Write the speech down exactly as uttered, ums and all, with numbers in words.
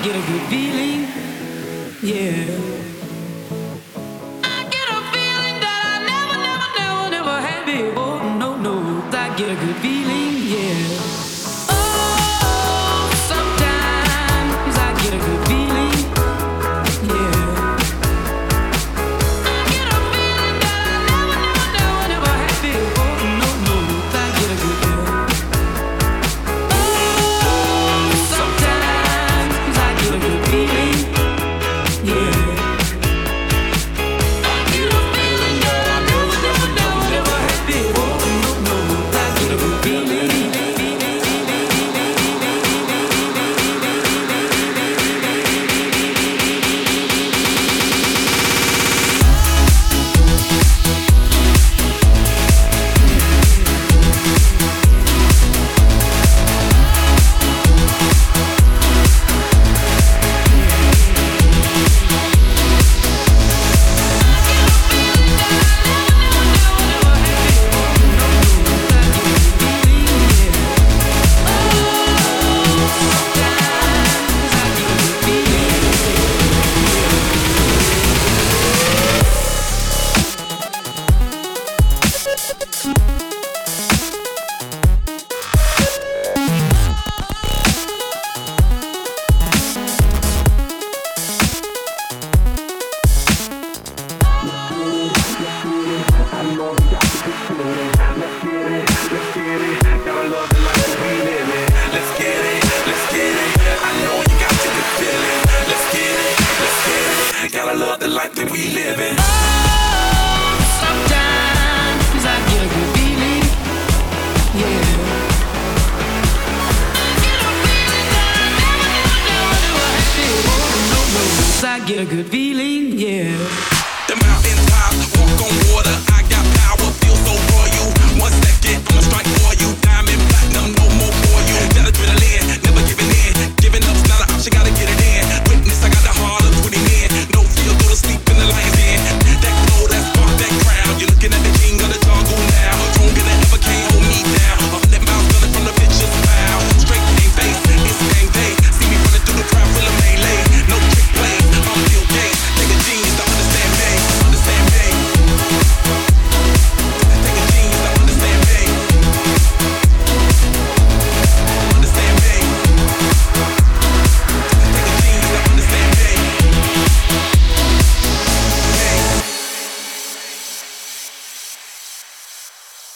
get a good feeling, yeah. I get a feeling that I never, never, never, never had before. No, no, I get a good feeling, yeah. Oh, sometimes I get a good feeling, yeah. I get a feeling that I never, never, never, never had before. No, no, I get a good feeling. Gotta love the life that we live in. Oh, sometimes I get a good feeling, yeah. I get a feeling that I never, never, never, never had before. No, no, I get a good feeling, yeah.